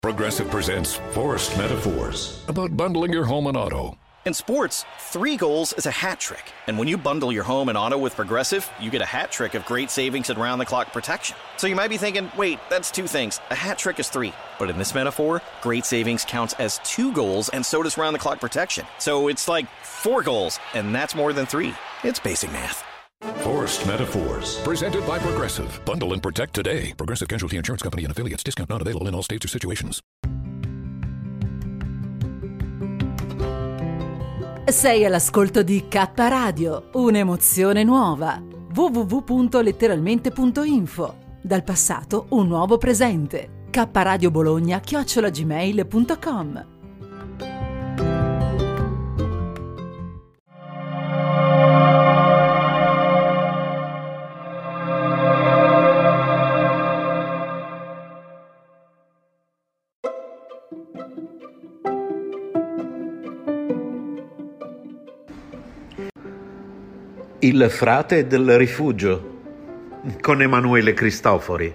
Progressive presents Forced Metaphors about bundling your home and auto. In sports, 3 goals is a hat trick. And when you bundle your home and auto with Progressive, you get a hat trick of great savings and round-the-clock protection. So you might be thinking, wait, that's 2 things. A hat trick is 3. But in this metaphor, great savings counts as 2 goals, and so does round-the-clock protection. So it's like 4 goals, and that's more than 3. It's basic math. Forced Metaphors, presented by Progressive. Bundle and protect today. Progressive Casualty Insurance Company and affiliates. Discount not available in all states or situations. Sei all'ascolto di K Radio, un'emozione nuova. www.letteralmente.info. Dal passato un nuovo presente. kradiobologna@gmail.com. Il frate del rifugio con Emanuele Cristofori.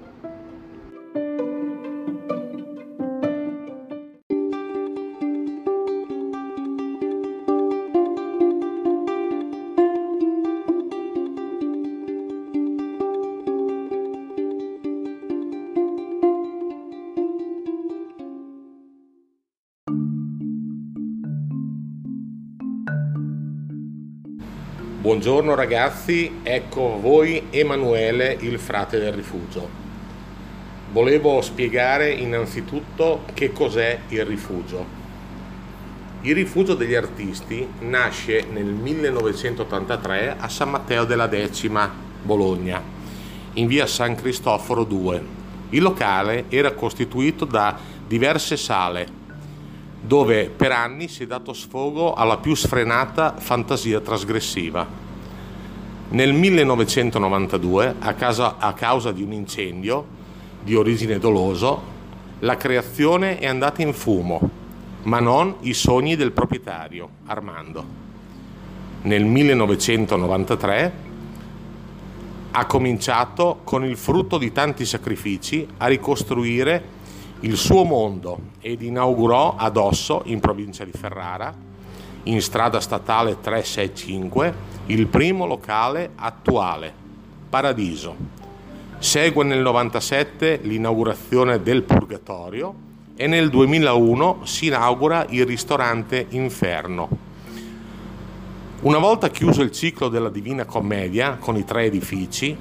Buongiorno ragazzi, ecco voi Emanuele, il frate del rifugio. Volevo spiegare innanzitutto che cos'è il rifugio. Il rifugio degli artisti nasce nel 1983 a San Matteo della Decima, Bologna, in via San Cristoforo 2. Il locale era costituito da diverse sale, dove per anni si è dato sfogo alla più sfrenata fantasia trasgressiva. Nel 1992, a causa di un incendio di origine doloso, la creazione è andata in fumo, ma non i sogni del proprietario, Armando. Nel 1993 ha cominciato, con il frutto di tanti sacrifici, a ricostruire il suo mondo ed inaugurò ad Osso, in provincia di Ferrara, in strada statale 365, il primo locale attuale, Paradiso. Segue nel 97 l'inaugurazione del Purgatorio e nel 2001 si inaugura il ristorante Inferno. Una volta chiuso il ciclo della Divina Commedia con i 3 edifici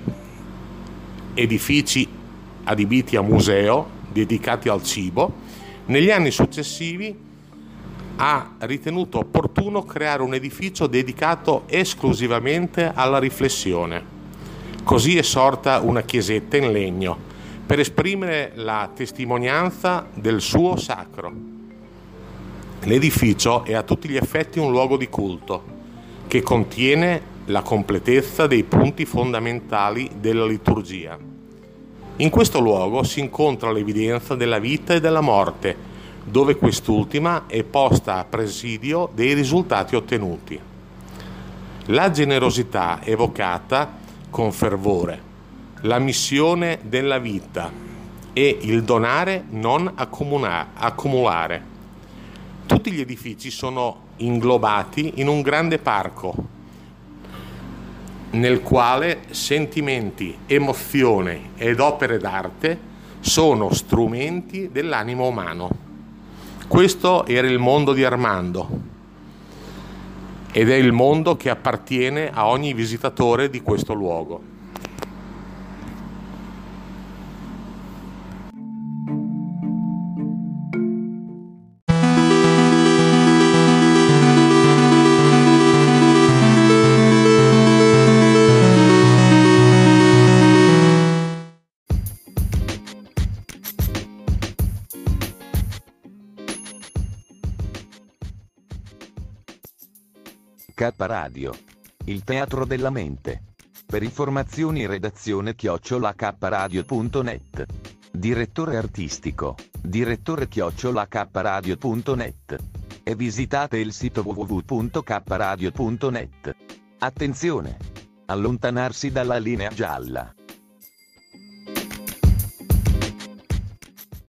adibiti a museo, dedicati al cibo, negli anni successivi ha ritenuto opportuno creare un edificio dedicato esclusivamente alla riflessione. Così è sorta una chiesetta in legno per esprimere la testimonianza del suo sacro. L'edificio è a tutti gli effetti un luogo di culto che contiene la completezza dei punti fondamentali della liturgia. In questo luogo si incontra l'evidenza della vita e della morte, dove quest'ultima è posta a presidio dei risultati ottenuti. La generosità evocata con fervore, la missione della vita e il donare non accumulare. Tutti gli edifici sono inglobati in un grande parco, nel quale sentimenti, emozioni ed opere d'arte sono strumenti dell'animo umano. Questo era il mondo di Armando ed è il mondo che appartiene a ogni visitatore di questo luogo. K Radio, il teatro della mente. Per informazioni redazione @kradio.net. Direttore artistico, direttore@kradio.net. E visitate il sito www.kradio.net. Attenzione! Allontanarsi dalla linea gialla.